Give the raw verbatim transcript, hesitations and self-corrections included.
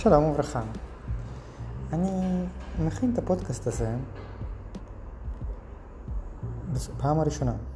שלום וברכה. אני מכין את הפודקאסט הזה בפעם הראשונה.